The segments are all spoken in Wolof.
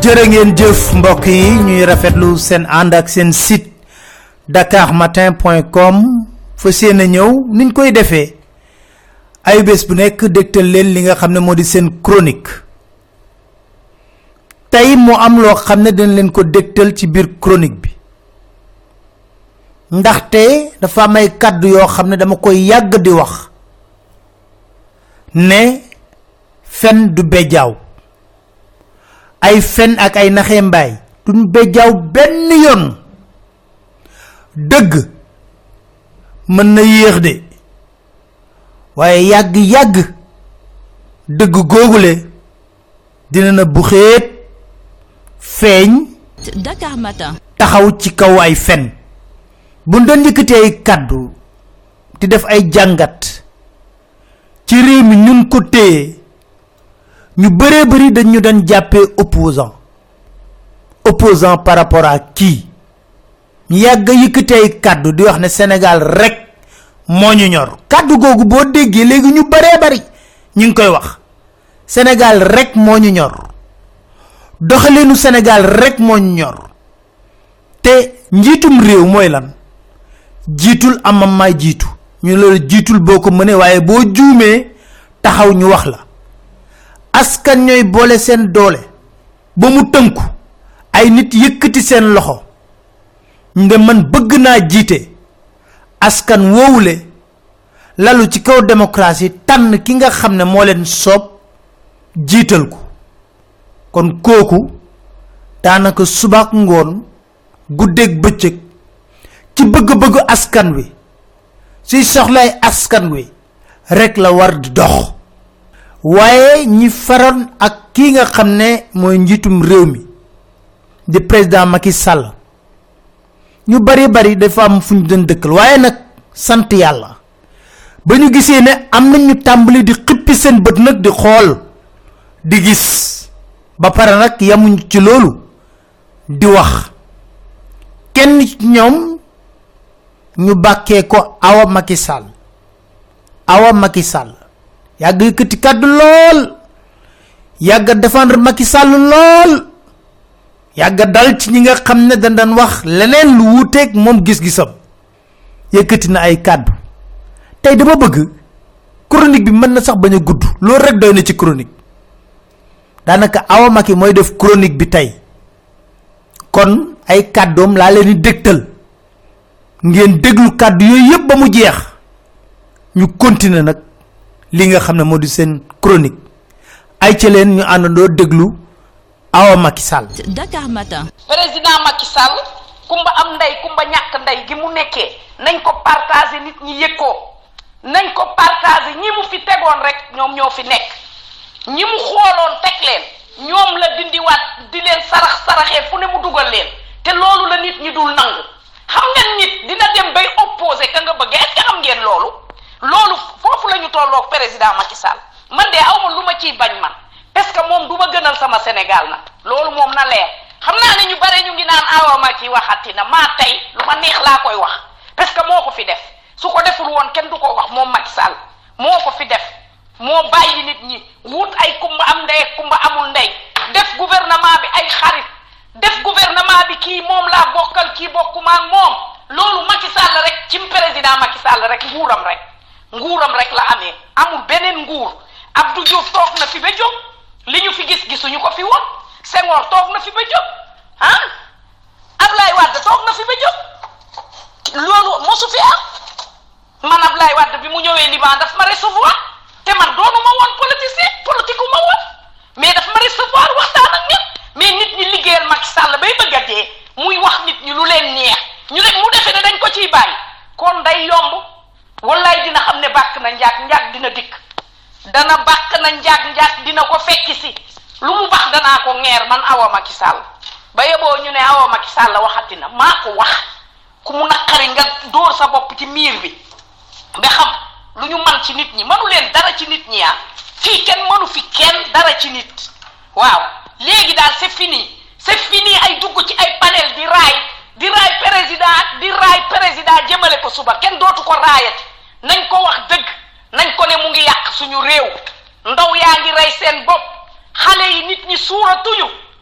jërë ngeen jëf mbokk yi ñuy rafetlu seen ànd ak seen site dakarmatin.com fa seen ñëw niñ koy defee ay bés bu nekk dégtal leen li nga xam ne moo di seen chronique tey mu am loo xam ne dañ leen ko dégtal ci biir chronique bi ndaxte dafa am ay kàddu yoo xam ne dama koy yàgg di wax ne fen du bejaaw ay fen ak ay naxé mbaay duñ bejaaw benn yoon dëgg mën na yéex de waaye yàgg dëgg googule dina na bu xeet feeñ Dakar Matin taxaw ci kaw ay fen bu doon yëkkati ay kàddu di def ay jàngat ci réew mi ñun ko téye ñu bëree bëri dañu doon jàppee opposant par rapport à qui ñu yàgg yëkkati ay kàddu di wax ne Sénégal rek moo ñu ñor kàddu googu boo déggee léegi ñu bëree bëri ñu ngi koy wax Sénégal rek moo ñu ñor doxalinu Sénégal rek moo ñu ñor te njiitum réew mooy lan jiitul amam may jiitu ñu loolu jiitul boo ko mënee waaye boo juumee taxaw ñu wax la askan ñooy boole seen doole ba mu tënku ay nit yëkkati seen loxo nde man bëgg naa jiite askan woowule lalu ci kaw démocratie tànn ki nga xam ne moo leen soob jiital ko kon kooku daanaka subaak ngoon guddeeg bëccëg ci bëgg-bëgg askan wi ci soxlay askan wi rek la war di dox waaye ñi faroon ak ki nga xam ne mooy njiitum réew mi di président Macky Sall ñu bari dafa am fuñu doon dëkkal waaye nag sant yàlla ba ñu gisee ne am nañu tàmbali di xippi seen bët nag di xool di gis ba pare nag yamuñ ci loolu di wax kenn ci ñoom ñu bàkkee ko Awa Macky Sall yàgg yëkkati kàddu lool yàgg défendre Macky Sall lool yàgg dal ci ñi nga xam ne dañ daan wax leneen lu wuuteeg moom gis-gisam yëkkati na ay kàddu tey dama bëgg chronique bi mën na sax bañ a gudd loolu rek doy na ci chronique daanaka Awa Macky mooy def chronique bi tey kon ay kàddoom laa leen di dégtal ngeen déglu kàddu yooyu yëpp ba mu jeex ñu continuer nag li nga xam ne moo di seen chronique ay ca leen ñu àndandoo déglu Awa Macky Sall. Dakar Matin. président Macky Sall kumba am ndey kumba ñàkk ndey gi mu nekkee nañ ko partager nit ñi yëg ko nañ ko partager ñi mu fi tegoon rek ñoom ñoo fi nekk ñi mu xooloon teg leen ñoom la dindiwaat di leen saraxee fu ne mu dugal leen te loolu la nit ñi dul nangu xam nga nit dina dem bay opposé ka nga bëgg est-ce que xam ngeen loolu foofu la ñu tolloog président Macky Sall man de awma lu ma ciy bañ man parce que moom du ma gënal sama Sénégal nag loolu moom na leer xam naa ne ñu bare ñu ngi naan Awa Macky waxati na maa tey lu ma neex laa koy wax parce que moo ko fi def su ko deful woon kenn du ko wax moom Macky Sall moo ko fi def moo bàyyi nit ñi wut ay kumba am ndey kumba amul ndey def gouvernement bi ay xarit def gouvernement bi kii moom laa bokkal kii bokkuma ak moom loolu Macky Sall rek ci président Macky Sall rek nguuram rek la amee amul beneen nguur Abdou Diouf toog na fi ba jóg li ñu fi gisuñu ko fi woon Senghor toog na fi ba jóg Ablaye Wade toog na fi ba jóg loolu mosu fi am man Ablaye Wade bi mu ñëwee Liban daf ma recevoir te man doonuma woon politique ma woon mais daf ma recevoir waxtaan ak ñëpp mais nit ñi liggéeyal Macky Sall bay bëgg a dee muy wax nit ñi lu leen neex ñu rek mu defee ne dañ ko ciy bàyyi kon day yomb wallaay dina xam ne bàkk na njaag dina dikk dana bàkk na njaag dina ko fekki si lu mu bax danaa ko ngeer man Awa Macky Sall ba yeboo ñu ne Awa Macky Sall waxati na maa ko wax ku mu naqari nga dóor sa bopp ci miir bi ba xam lu ñu man ci nit ñi mënu leen dara ci nit ñi fii kenn mënu fi kenn dara ci nit waaw léegi daal c'est fini ay dugg ci ay panel di raay président jëmale ko suba kenn dootu ko raayati nañ ko wax dëgg nañ ko ne mu ngi yàq suñu réew ndaw yaa ngi rey seen bopp xale yi nit ñi suuratuñu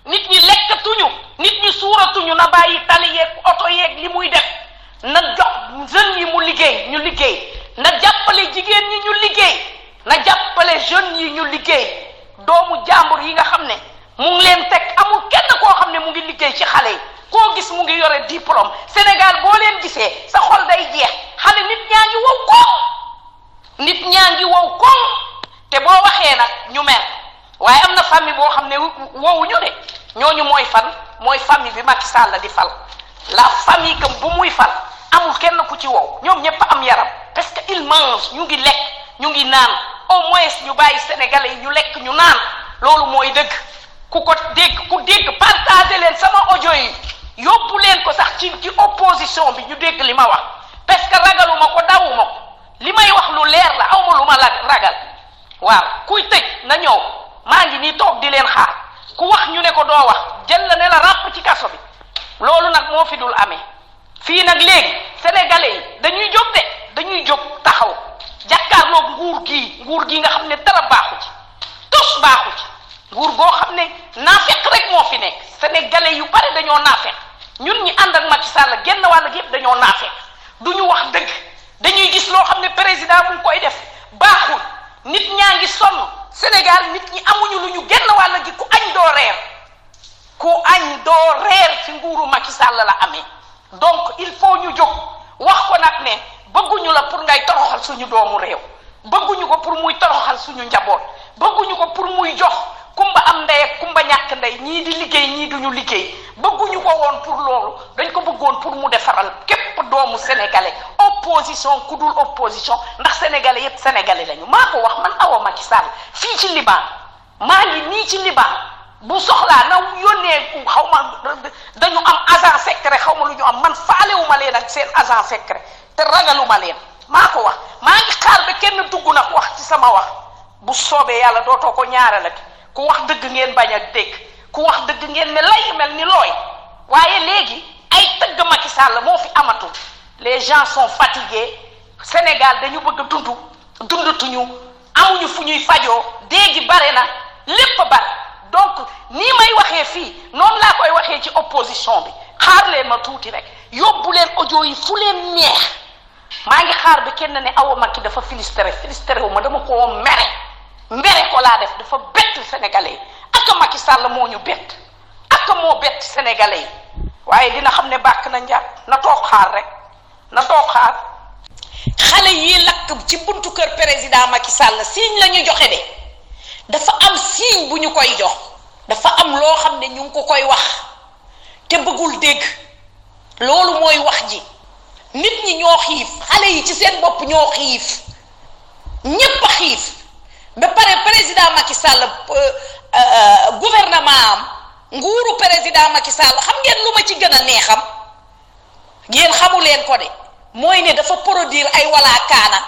nit ñi lekkatuñu nit ñi suuratuñu na bàyyi tali yeeg oto yeeg li muy def na jox jeunes yi mu liggéey ñu liggéey na jàppale jigéen ñi ñu liggéey na jàppale jeunes yi ñu liggéey doomu jàmbur yi nga xam ne mu ngi leen teg amul kenn koo xam ne mu ngi liggéey ci xale yi koo gis mu ngi yore diplôme Sénégal boo leen gisee sa xol day jeex xale nit ñaa ngi wow koŋ nit ñaa ngi wow koŋ te boo waxee nag ñu mer waaye am na famille boo xam ne wowuñu de ñooñu mooy fan mooy famille bi Macky Sall di fal la famille que bu muy fal amul kenn ku ci wow ñoom ñëpp am yaram parce que il mange ñu ngi lekk ñu ngi naan au moins ñu bàyyi sénégalais yi ñu lekk ñu naan loolu mooy dëgg ku dégg partagé leen sama audio yi yóbbu leen ko sax ci opposition bi ñu dégg li ma wax parce que ragaluma ko dawuma ko li may wax lu leer la awma lu ma ragal waaw kuy tëj na ñëw maa ngi nii toog di leen xaar ku wax ñu ne ko doo wax jël la ne la ràpp ci kaso bi loolu nag moo fi dul amee fii nag léegi sénégalais yi dañuy jóg de dañuy jóg taxaw jàkkaarloog nguur gi nga xam ne dara baaxu ci tos baaxu ci nguur goo xam ne naafeq rek moo fi nekk sénégalais yu bari dañoo naafeq ñun ñi ànd ak Macky Sall genn wàll gi yëpp dañoo naafeq du ñu wax dëgg dañuy gis loo xam ne président mu ngi koy def baaxul nit ñaa ngi sonn Sénégal nit ñi amuñu lu ñu genn wàll gi ku añ doo reer ci nguuru Macky Sall la amee donc il faut ñu jóg wax ko nag ne bëgguñu la pour ngay toroxal suñu doomu réew bëgguñu ko pour muy toroxal suñu njaboot bëgguñu ko pour muy jox kumba am ndey ak kumba ñàkk ndey ñii di liggéey ñii duñu liggéey bëgguñu ko woon pour loolu dañ ko bëggoon pour mu defaral képp doomu sénégalais opposition ku dul opposition ndax sénégalais yépp sénégalais lañu maa ko wax man Awa Macky Sall fii ci Liban maa ngi nii ci Liban bu soxlaa na yónnee xaw ma dañu am agent secret xaw ma lu ñu am man faalewuma leen ak seen agent secret te ragaluma leen maa ko wax maa ngi xaar ba kenn dugg nag wax ci sama wax bu soobee yàlla dootoo ko ñaaralati ku wax dëgg ngeen bañ a dégg ku wax dëgg ngeen ne lay mel ni looy waaye léegi ay tëgg Macky Sall moo fi amatul les gens sont fatigués Sénégal dañu bëgg a dundatuñu amuñu fu ñuy fajoo déegi bare na lépp bare donc nii may waxee fii noonu laa koy waxee ci opposition bi xaar leen ma tuuti rek yóbbu leen audio yi fu leen neex maa ngi xaar bi kenn ne Awa Macky dafa filistere wu ma dama ko mbere ko laa def dafa bett sénégalais yi ak Macky Sall moo ñu bett ak moo bett sénégalais yi waaye dina xam ne bàkk na njàpp na toog xaar rek na toog xaar xale yi lakk ci buntu kër président Macky Sall signe la ñu joxe de dafa am signe bu ñu koy jox dafa am loo xam ne ñu ngi ko koy wax te bëggul dégg loolu mooy wax ji nit ñi ñoo xiif xale yi ci seen bopp ñoo xiif ñépp a xiif ba pare président Macky Sall gouvernement am nguuru président Macky Sall xam ngeen lu ma ci gën a neexam yéen xamu leen ko de mooy ne dafa produire ay walaakaana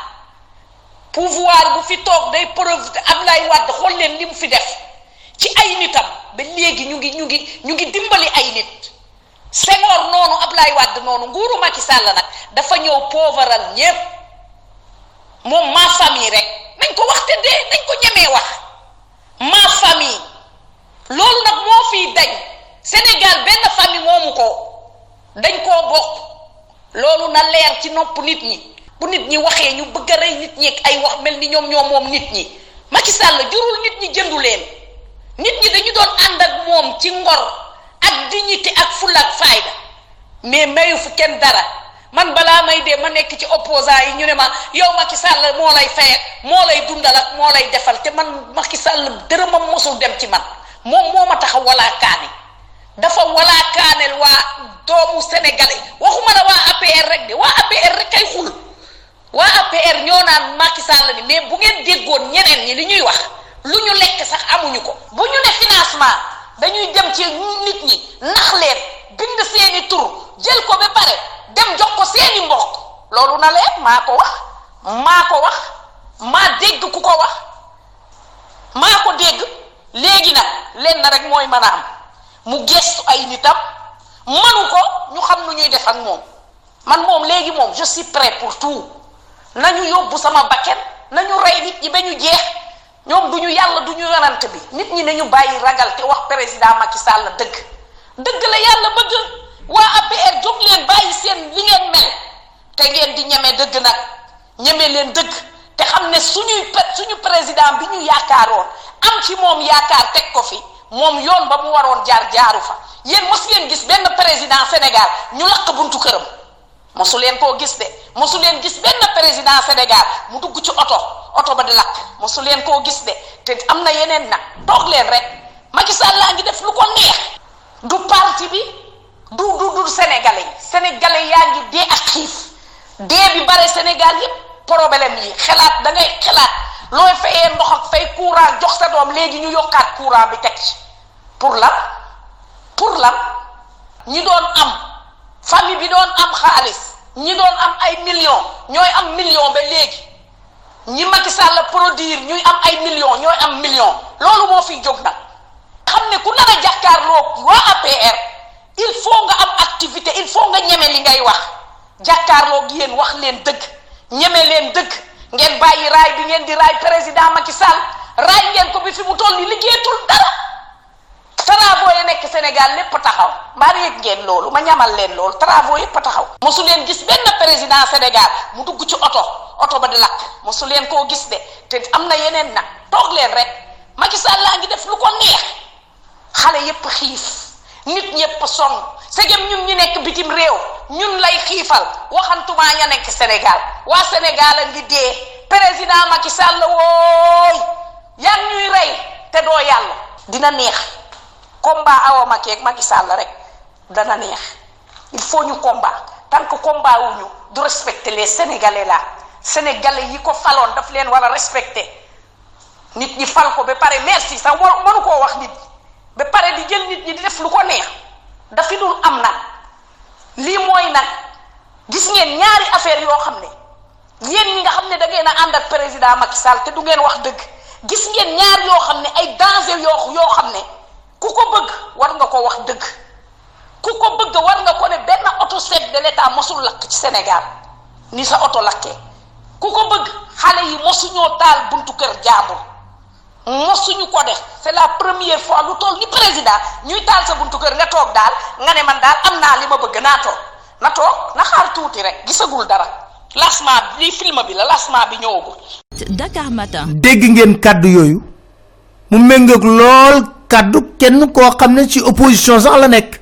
pouvoir bu fi toog day produire Abdoulaye Wade xool leen li mu fi def ci ay nitam ba léegi ñu ngi dimbali ay nit Senghor noonu Abdoulaye Wade noonu nguuru Macky Sall nag dafa ñëw pauvral ñépp moom ma famille rek nañ ko wax te dee nañ ko ñemee wax ma famille loolu nag moo fiy dañ Sénégal benn famille moomu ko dañ koo bokk loolu na leer ci nopp nit ñi bu nit ñi waxee ñu bëgg a rey nit ñi ak ay wax mel ni ñoom moom nit ñi Macky Sall jurul nit ñi jëndu leen nit ñi dañu doon ànd ak moom ci ngor ak dignité ak fulla ak fayda mais mayu fu kenn dara man balaa may dee ma nekk ci opposant yi ñu ne ma yow Macky Sall moo lay fay moo lay dundal ak moo lay defal te man Macky Sall dërëmam mosul dem ci man moom moo ma tax a walaakaane dafa walaakaaneel waa doomu sénégalais waxuma la waa APR rek de waa APR rek kay xul waa APR ñoo naan Macky Sall ni mais bu ngeen déggoon ñeneen ñi li ñuy wax lu ñu lekk sax amuñu ko bu ñu ne financement dañuy dem ci nit ñi nax leen bind seeni tur jël ko ba pare dem jox ko seeni mbokk loolu na leen maa ko wax maa dégg ku ko wax maa ko dégg léegi nag leen na rek mooy mën a am mu gestu ay nitam manu ko ñu xam nu ñuy def ak moom man moom léegi moom je suis prêt pour tout nañu yóbbu sama bakken nañu rey nit ñi ba ñu jeex ñoom duñu yàlla duñu yonant bi nit ñi nañu bàyyi ragal te wax président Macky Sall dëgg dëgg la yàlla bëgg waa APR jóg leen bàyyi seen li ngeen mel te ngeen di ñeme dëgg nag ñeme leen dëgg te xam ne suñu président bi ñu yaakaaroon am ci moom yaakaar teg ko fi moom yoon ba mu waroon jaaru fa yéen mosu leen gis benn président Sénégal ñu lakk buntu këram mosu leen koo gis de mosu leen gis benn président Sénégal mu dugg ci oto ba di lakk mosu leen koo gis de te am na yeneen nag toog leen rek Macky Sall laa ngi def lu ko neex du parti bi du sénégalais yaa ngi dee ak xiif dee bi bare Sénégal yépp problème yi xalaat da ngay xalaat looy fayee ndox ak fay courant jox sa doom léegi ñu yokkaat courant bi teg ci pour lan ñi doon am famille bi doon am xaalis ñi doon am ay millions ñooy am million ba léegi ñi Macky Sall produire ñuy am ay millions ñooy am million loolu moo fiy jóg nag xam ne ku nar a jàkkaarloo waa APR il faut nga am activité il faut nga ñeme li ngay wax jàkkaarloo gi yéen wax leen dëgg ñeme leen dëgg ngeen bàyyi raay bi ngeen di raay président Macky Sall raay ngeen ko bi fi mu toll ni liggéeyatul dara travaux yi nekk Sénégal lépp taxaw mbaa yëg ngeen loolu ma ñamal leen loolu travaux yépp taxaw mosu leen gis benn président Sénégal mu dugg ci oto ba di lakk mosu leen koo gis de te am na yeneen nag toog leen rek Macky Sall laa ngi def lu ko neex xale yépp xiif nit ñépp sonn segem ñun ñu nekk bitim réew ñun lay xiifal waxantumaa ña nekk Sénégal waa Sénégal a ngi dee président Macky Sall wooy yaa ñuy rey te doo yàlla dina neex combat Awa Macky ak Macky Sall rek dana neex il faut ñu combat tant que combat wuñu du respecter les Sénégalais là Sénégalais yi ko faloon daf leen war a respecter nit ñi fal ko ba pare merci sax mënu koo wax nit ba pare di jël nit ñi di def lu ko neex dafi dul am nag lii mooy nag gis ngeen ñaari affaire yoo xam ne yéen ñi nga xam ne da ngeen a ànd ak président Macky Sall te du ngeen wax dëgg gis ngeen ñaar yoo xam ne ay danger yoo xam ne ku ko bëgg war nga ko wax dëgg ku ko bëgg war nga ko ne benn auto chef de l'état mosul lakk ci Sénégal ni sa auto lakkee ku ko bëgg xale yi mosuñoo taal buntu kër jaambur mosuñu ko def c'est la première fois lu toll ni président ñuy taal sa buntu kër nga toog daal nga ne man daal am naa li ma bëgg naa toog na xaar tuuti rek gisagul dara lancement bi film bi la lancement bi ñëwagul. Dakar Matin. dégg ngeen kaddu yooyu mu méngoog lool kaddu kenn koo xam ne ci opposition sax la nekk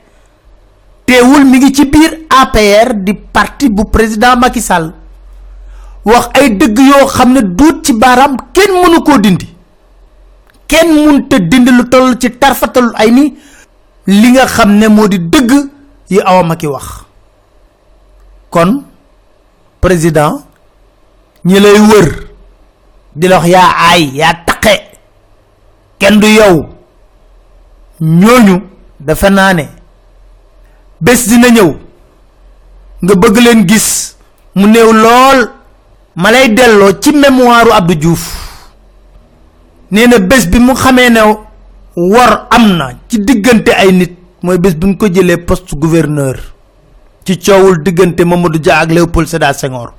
teewul mi ngi ci biir APR di parti bu président Macky Sall wax ay dëgg yoo xam ne duut ci baaraam kenn mënu koo dindi kenn mënta dindi lu toll ci tarfatal ay ni li nga xam ne moo di dëgg yi Awa Macky wax kon président ñi lay wër di la wax yaa aay yaa taqe kenn du yow ñooñu dafa naa ne bés dina ñëw nga bëgg leen gis mu néew lool ma lay delloo ci mémoire Abdou Diouf nee na bés bi mu xamee ne war am na ci diggante ay nit mooy bés bi ñu ko jëlee poste gouverneur ci coowul diggante Mamadou Dia ak Léopold Sédar Senghor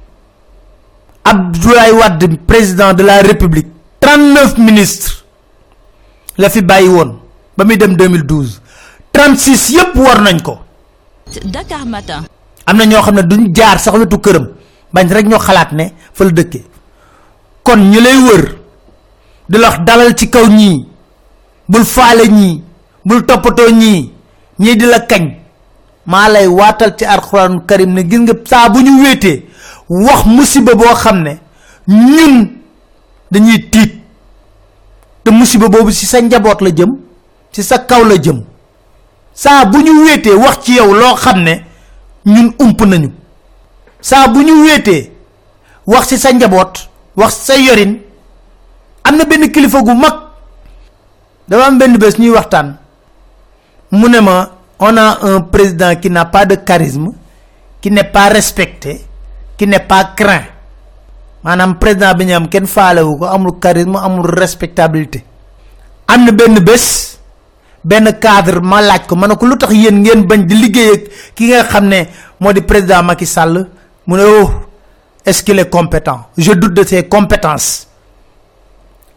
Abdoulaye Wade président de la République 39 ministres la fi bàyyi woon ba muy dem 2012 36 yépp war nañ ko. Dakar Matin. am na ñoo xam ne duñ jaar sax wetu këram bañ rek ñoo xalaat ne fa la dëkkee kon ñu lay wër di la wax dalal ci kaw ñii bul faale ñii bul toppatoo ñii di la kañ maa lay waatal ci alxuraan karim ne gis nga saa bu ñu wéetee wax musiba boo xam ne ñun dañuy tiit te musiba boobu ci sa njaboot la jëm ci sa kaw la jëm saa bu ñu wéetee wax ci yow loo xam ne ñun ump nañu saa bu ñu wéetee wax ci sa njaboot wax sa yorin am na benn kilifa gu mag dafa am benn bés ñuy waxtaan mu ne ma on a un président qui n'a pas de charisme qui n'est pas respecté qui n'est pas craint maanaam président bi ñu am kenn faalewu ko amul charisme amul respectabilité am na benn bés benn cadre ma laaj ko ma ne ko lu tax yéen ngeen bañ di liggéey ak ki nga xam ne moo di président Macky Sall mu ne oh est-ce qu'il est compétent je doute de ses compétences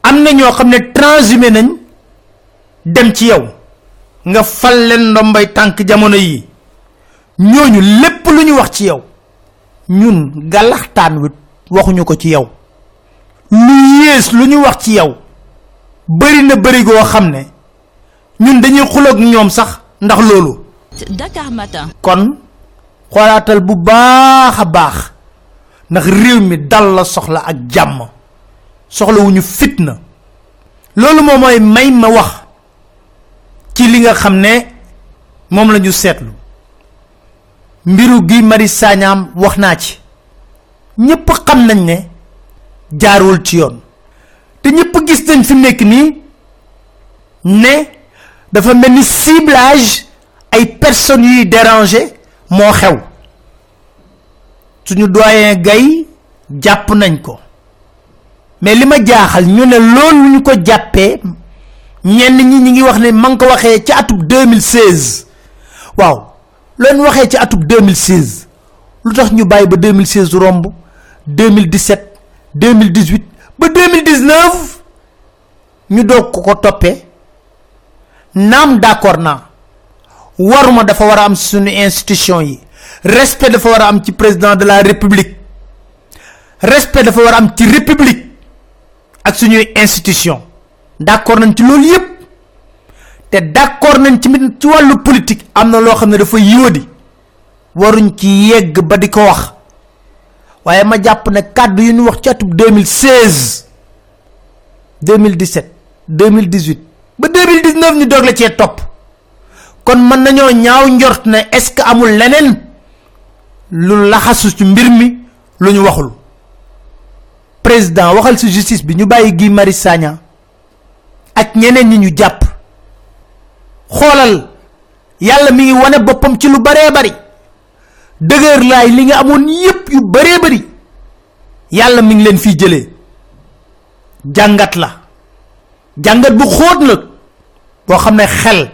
amna ño xamne transhumé nañ dem ci yow nga fal len ndombay tank jamono yi ñoñu lepp luñu wax ci yow ñun galaxtaan wi waxuñu ko ci yow lu yes luñu wax ci yow bari na bari go xamne ñun dañuy xulok ñom sax ndax lolu Dakar Matin. kon xolatal bu baaxa baax ndax réew mi dal la soxla ak jamm soxla wuñu fitna lolu moy may ma wax ci li nga xamne mom lañu sétlu mbiru gi Mari Sagnam waxna ci ñepp xam nañ ne jaarul ci yoon te ñepp gis nañ fi nek ni ne dafa melni ciblage ay personnes yi déranger mo xew suñu doyen gay japp nañ ko mais lima jaaxal ñu ne loolu ñu ko jappé ñenn ñi ngi wax ne man ko waxé ci atub 2016 waaw leen waxé ci atub 2016 lutax ñu bayyi ba 2016 romb 2017 2018 ba 2019 ñu dog ko topé nam d'accord na waruma dafa wara am suñu institution yi respect dafa wara am ci président de la république respect dafa wara am ci république ak suñu institution d'accord nañ ci loolu yépp té d'accord nañ ci walu politique amna lo xamné dafa yodi waruñ ci yegg ba diko wax waye ma japp ne kaddu yu ñu wax ci atub 2016 2017 2018 ba 2019 ñu dog la ci top kon man nañu ñaaw njort ne est ce que amul leneen lu laxasu ci mbir mi lu ñu waxul président waxal ci justice bi ñu bayyi Guy Marius Sagna ak ñeneen ñi ñu japp xolal yalla mi ngi wone bopam ci lu bare bari deuguer lay li nga amone yépp yu bare bari yalla mi ngi leen fi jëlé jangat la jangat bu xoot la bo xamné xel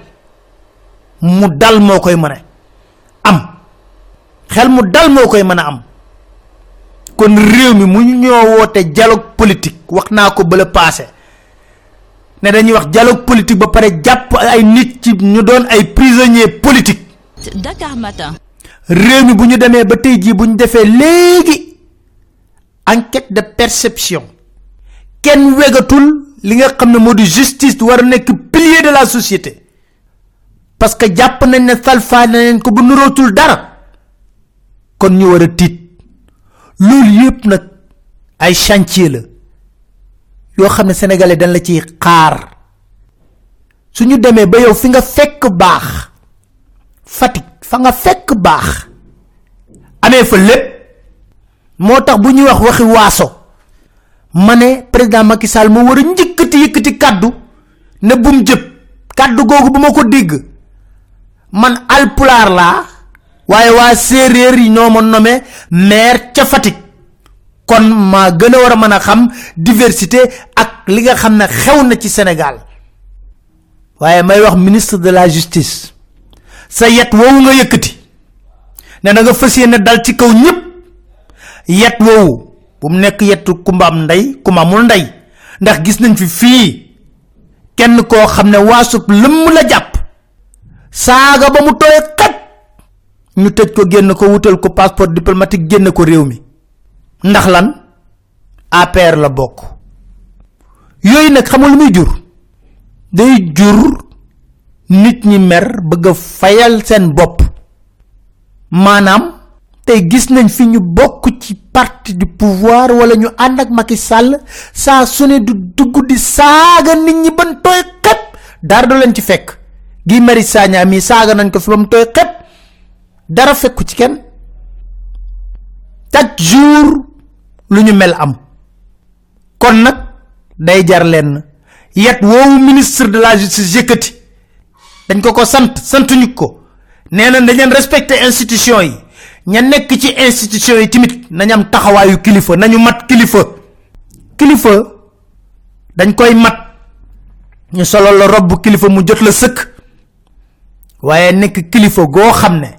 mu dal mo koy mëne am xel mu dal mo koy mëna am kon réew mi mu ñoo woté dialogue politique waxna ko ba le passé né dañuy wax dialogue politique ba paré japp ay nit ci ñu doon ay prisonniers politiques Dakar Matin. réew mi bu ñu démé ba tay ji bu ñu défé légui enquête de perception ken wégatul li nga xamné modi justice war nek pilier de la société parce que japp nañ ne salfa nañ ko bu nurotul dara kon ñu wara tit lool yépp nak ay chantier la yo xamné sénégalais dañ la ci xaar suñu démé ba yow fi nga fekk baax fatik fa nga fekk baax amé fa lepp motax buñu wax waxi waso mané président Macky Sall mo wara yëkëti kaddu ne bum jëp kaddu gogu buma ko dégg man alpular la waye wa séréer yi ñoo ma nommé maire ca Fatick kon ma gëna wara mëna xam diversité ak li nga xamné xew na ci Sénégal waye may wax ministre de la justice sa yet wowu nga yëkëti né nga fassiyene dal ci kaw ñëpp yet wowu bu mu nek yetu kumba am nday kuma mul nday ndax gis nañ fi kenn ko xamné wasub lëm la japp saga ba mu toy kat ñu tejj ko genn ko wutal ko passeport diplomatique genn ko réew mi ndax lan APR la bok yoy nak xamul lu muy jur day jur nit ñi mer bëgg fayal sen bop manam tay gis nañ fi ñu bok ci parti du pouvoir wala ñu and ak Macky Sall sa suné du dugg di saga nit ñi ban toy kat dar do leen ci fekk Guy Marius Sagna mi saga nañ ko fi bam toy kat dara fekku ci kenn chaque jour lu ñu mel am kon nak day jar len yet wo ministre de la justice yëkëti dañ ko santuñu ko néna dañ leen respecter institution yi ña nek ci institution yi timit nañ am taxawayu kilifa nañu mat kilifa dañ koy mat ñu solo la robb kilifa mu jot la sëkk waye nek kilifa go xamne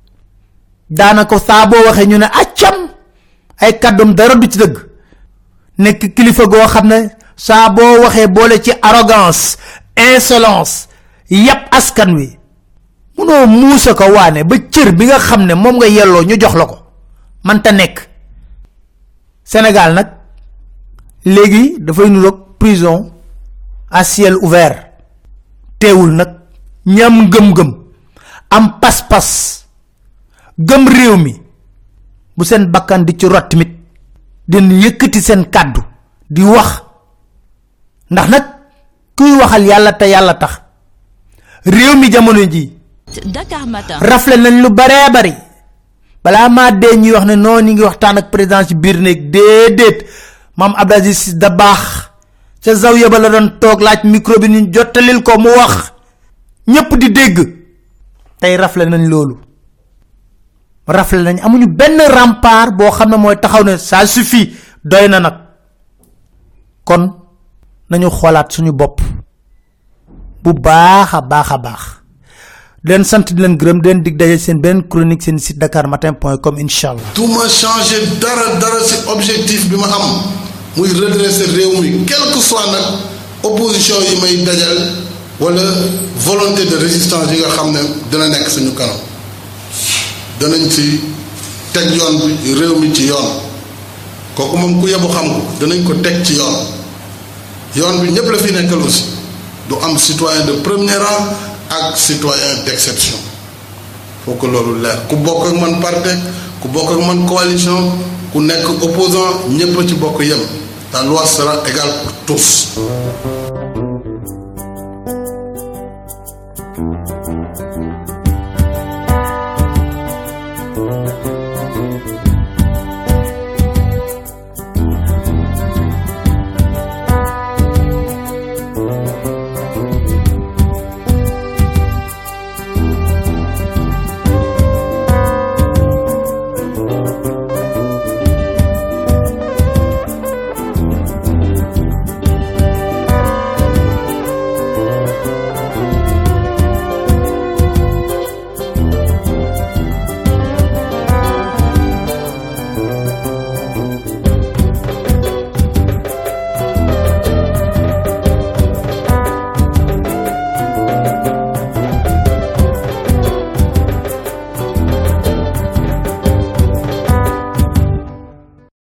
danako sa bo waxe ñu ne accam ay kaddum dara du ci deug nek kilifa go xamne saa boo waxee boole ci arrogance insolence yap askan wi munoo muusa ko waane ba cër bi nga xam ne moom nga yelloo ñu jox la ko man ta nekk. Sénégal nag léegi dafay nuroog prison à ciel ouvert teewul nag ñam gëm-gëm am pas-pas gëm réew mi bu seen bakkan di ci rot tamit den yëkkati seen kàddu di wax ndax nag kuy waxal yàlla te yàlla tax réew mi jamono ji Dakar Matin rafle nañ lu bare bari bala ma dee ñuy wax ne non ñi ngi waxtaan ak président ci biir néeg déedéet mam Abdou Aziz Dabakh ca zawiya ba la doon toog laaj micro bi ñu jottalil ko mu wax ñëpp di dégg tey rafle nañ loolu rafle nañ amuñu benn rempart boo xam ne mooy taxaw ne ça suffit doy na nag kon nañu xoolaat suñu bopp bu baax a baax den sant di leen gërëm den dig daje seen benn chronique seen site dakarmatin.com inshallah tout ma changer dara ci objectif bi ma am muy redresser réew mi quel que soit nag opposition yi may dajal wala volonté de résistance yi nga xam ne dina nekk suñu kanam danañ ci teg yoon bi réew mi ci yoon kooku moom ku yebu xam ko danañ ko teg ci yoon bi ñëpp la fi nekkal aussi du am citoyen de premier rang ak citoyen d'exception faut que loolu leer ku bokk ak man parti ku bokk ak man coalition ku nekk opposant ñëpp ci bokk yem la loi sera égale pour tous